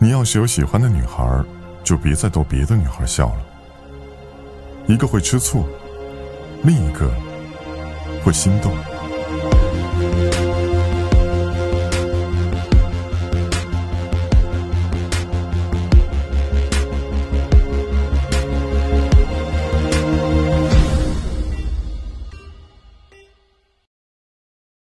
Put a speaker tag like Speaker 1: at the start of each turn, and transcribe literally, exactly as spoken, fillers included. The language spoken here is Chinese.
Speaker 1: 你要是有喜欢的女孩，就别再逗别的女孩笑了。一个会吃醋，另一个会心动。